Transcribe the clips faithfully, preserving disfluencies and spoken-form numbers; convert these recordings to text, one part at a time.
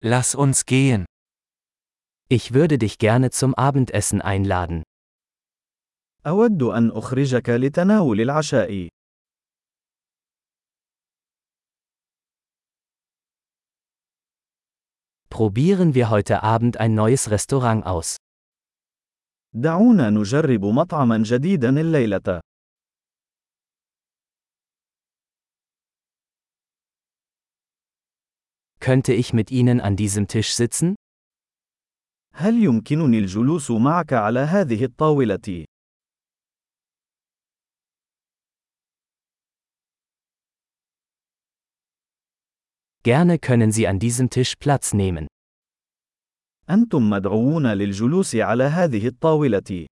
Lass uns gehen. Ich würde dich gerne zum Abendessen einladen. أود أن أخرجك لتناول العشاء. Probieren wir heute Abend ein neues Restaurant aus. دعونا نجرب مطعما جديدا الليلة. Könnte ich mit Ihnen an diesem Tisch sitzen? هل يمكنني الجلوس معك على هذه الطاولة؟ Gerne können Sie an diesem Tisch Platz nehmen. أنتم مدعوون للجلوس على هذه الطاولة.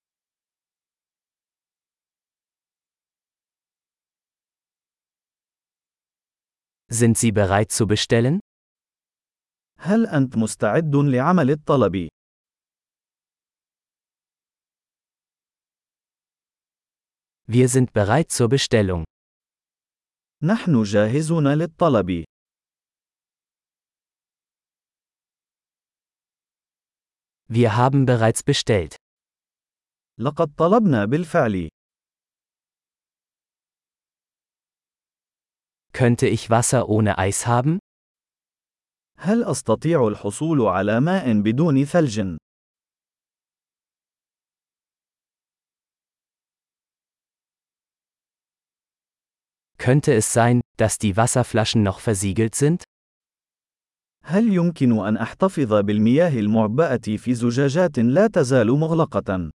Sind Sie bereit zu bestellen? هل أنت مستعد لعمل الطلب؟ Wir sind bereit zur Bestellung. نحن جاهزون للطلب. Wir haben bereits bestellt. لقد طلبنا بالفعل. Könnte ich Wasser ohne Eis haben? هل أستطيع الحصول على ماء بدون ثلج؟ Könnte es sein, dass die Wasserflaschen noch versiegelt sind? هل يمكن أن أحتفظ بالمياه المعبأة في زجاجات لا تزال مغلقة؟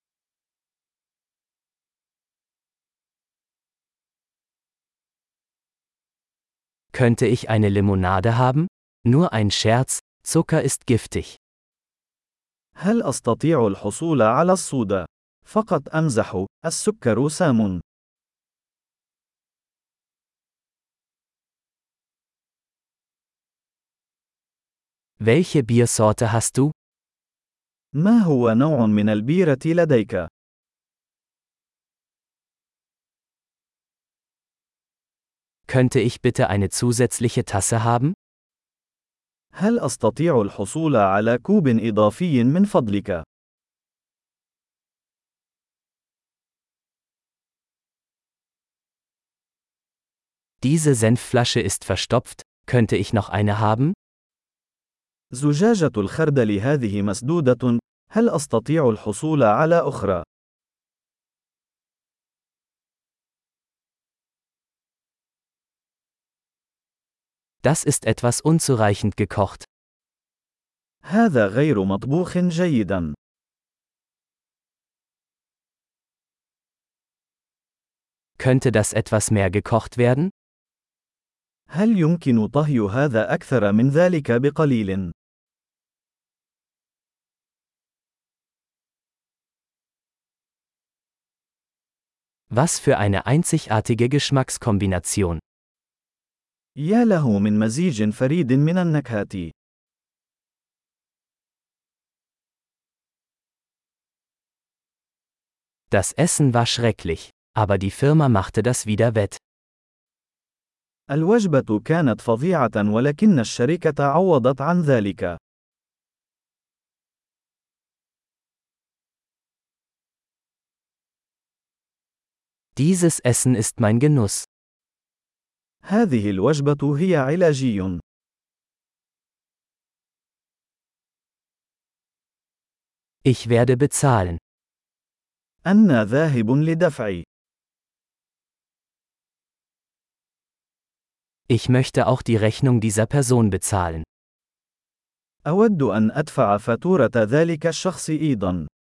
Könnte ich eine Limonade haben? Nur ein Scherz, Zucker ist giftig. هل أستطيع الحصول على الصودا؟ فقط أمزح، السكر سام. Welche Biersorte hast du? ما هو نوع من البيرة لديك؟ Könnte ich bitte eine zusätzliche Tasse haben? هل أستطيع الحصول على كوب إضافي من فضلك؟ Diese Senfflasche ist verstopft, könnte ich noch eine haben? زجاجة الخردل هذه مسدودة، هل أستطيع الحصول على أخرى؟ Das ist etwas unzureichend gekocht. هذا غير مطبوخ جيدا. Könnte das etwas mehr gekocht werden? هل يمكن طهي هذا أكثر من ذلك بقليل؟ Was für eine einzigartige Geschmackskombination. يا له من مزيج فريد من النكهات. Das Essen war schrecklich, aber die Firma machte das wieder wett. الوجبة كانت فظيعة ولكن الشركة عوضت عن ذلك. Dieses Essen ist mein Genuss. هذه الوجبة هي علاجي. Ich werde bezahlen. أنا ذاهب لدفع. Ich möchte auch die Rechnung dieser Person bezahlen. أود أن أدفع فاتورة ذلك الشخص أيضا.